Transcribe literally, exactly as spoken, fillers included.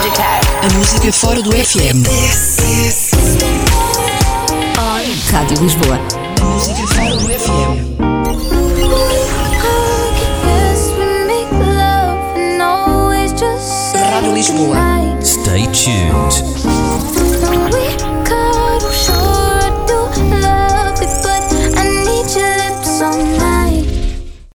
A música fora do F M. Rádio Lisboa. A música fora do F M. Rádio Lisboa. Stay tuned.